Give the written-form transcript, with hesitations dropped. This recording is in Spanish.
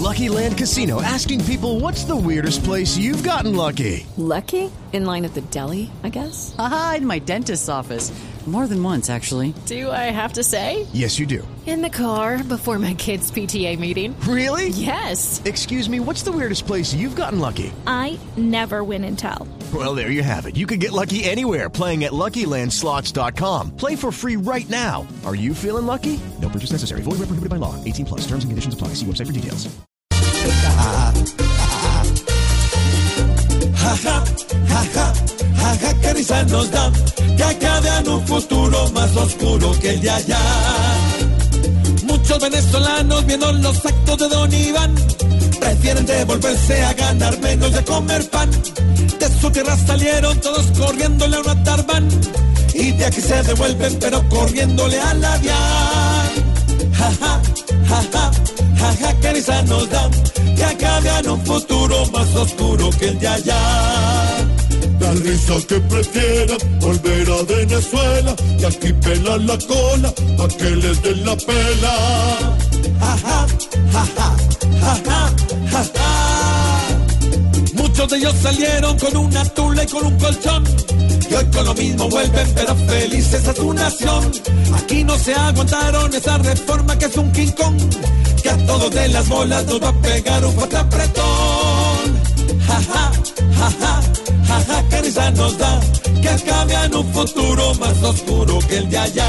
Lucky Land Casino, asking people, what's the weirdest place you've gotten lucky? Lucky? In line at the deli, I guess? Aha, in my dentist's office. More than once, actually. Do I have to say? Yes, you do. In the car before my kids' PTA meeting. Really? Yes. Excuse me, what's the weirdest place you've gotten lucky? I never win and tell. Well, there you have it. You can get lucky anywhere, playing at LuckyLandSlots.com. Play for free right now. Are you feeling lucky? No purchase necessary. Void where prohibited by law. 18 plus. Terms and conditions apply. See website for details. Qué risa nos da que acabe en un futuro más oscuro que el de allá. Muchos venezolanos viendo los actos de Don Iván prefieren devolverse a ganar menos y a comer pan. De su tierra salieron todos corriéndole a un atarbán y de aquí se devuelven pero corriéndole a la DIAN. Qué risa nos da que acabe en un futuro más oscuro que el de allá. La risa que prefieran volver a Venezuela y aquí pelan la cola pa' que les den la pela. Muchos de ellos salieron con una tula y con un colchón y hoy con lo mismo vuelven pero felices a su nación. Aquí no se aguantaron esa reforma que es un King Kong, que a todos de las bolas nos va a pegar un fuerte apretón. Qué risa nos da que acabe en un futuro más oscuro que el de allá.